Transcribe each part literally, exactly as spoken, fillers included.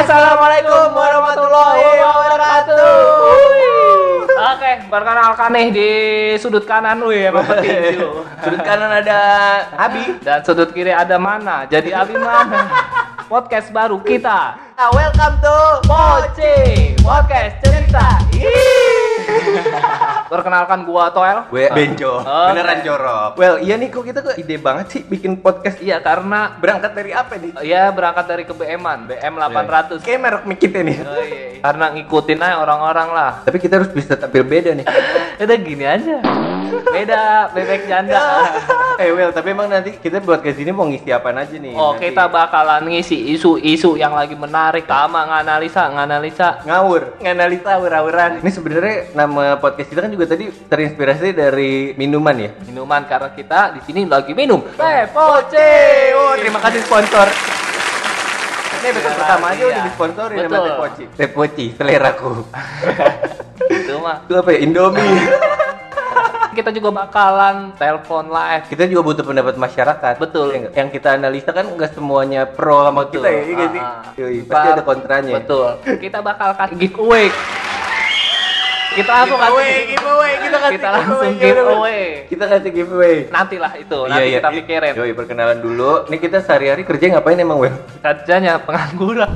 Assalamualaikum warahmatullahi wabarakatuh. Oke, perkenalkan nih di sudut kanan lu ya, Pak Petinju. Sudut kanan ada Abi dan sudut kiri ada Mana. Jadi Abi mana? Podcast baru kita. Ah, welcome to Poci Podcast Cerita. Perkenalkan gua Toel. Gue Benjo. Okay. Beneran jorok. Well, iya nih kok kita kok ide banget sih bikin podcast. Iya, karena Berangkat dari apa nih? ya berangkat dari ke B M-an, B M delapan ratus. Kayak merek mic kita nih. Oh, iya. Karena ngikutin aja orang-orang lah. Tapi kita harus bisa tampil beda nih. Udah gini aja. Beda bebek janda. Eh well, tapi emang nanti kita buat ke sini mau ngisi apaan aja nih? Oh, nanti. kita bakalan ngisi isu-isu yang lagi menarik, sama nganalisa, nganalisa. Ngawur, nganalisa awur-awuran. Ini sebenarnya nama podcast kita kan juga tadi terinspirasi dari minuman ya. Minuman karena kita di sini lagi minum Teh Poci. Oh, terima kasih sponsor. Ini episode pertama aja iya. udah disponsorin sama Betul. Teh Poci. Teh Poci, seleraku. Itu mah. Itu apa ya? Indomie. Kita juga bakalan telepon live. Kita juga butuh pendapat masyarakat. Betul. Ya, yang kita analisa kan nggak semuanya pro sama Betul. kita ya, iya nggak sih? Ah, ah. Yoi, pasti ada kontranya. Betul. Kita bakal kasih giveaway. Kita langsung Giveaway, kasih giveaway, kita kasih kita langsung giveaway. giveaway. Kita kasih giveaway. Nantilah itu, nanti kita pikirin. Yoi, perkenalan dulu. Nih kita sehari-hari kerja ngapain emang, Wel? Kerjanya pengangguran.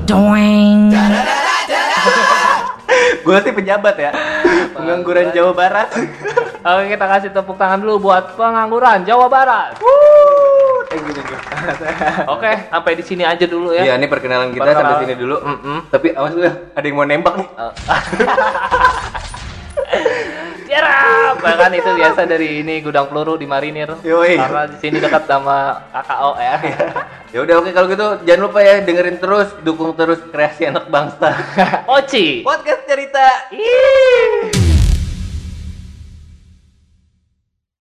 Gue sih pejabat ya. Pengangguran Jawa Barat. Oke, kita kasih tepuk tangan dulu buat pengangguran Jawa Barat. Eh, gitu, gitu. Oke, sampai di sini aja dulu ya. Iya, ini perkenalan kita Perkenalan. sampai sini dulu. Mm-mm. Tapi awas lu, ada yang mau nembak nih. Cerap, bahkan itu biasa dari ini gudang peluru di marinir. Yoi. Karena di sini dekat sama K K O ya. Ya udah oke kalau gitu jangan lupa ya dengerin terus, dukung terus kreasi anak bangsa. Poci. Podcast cerita. Ih.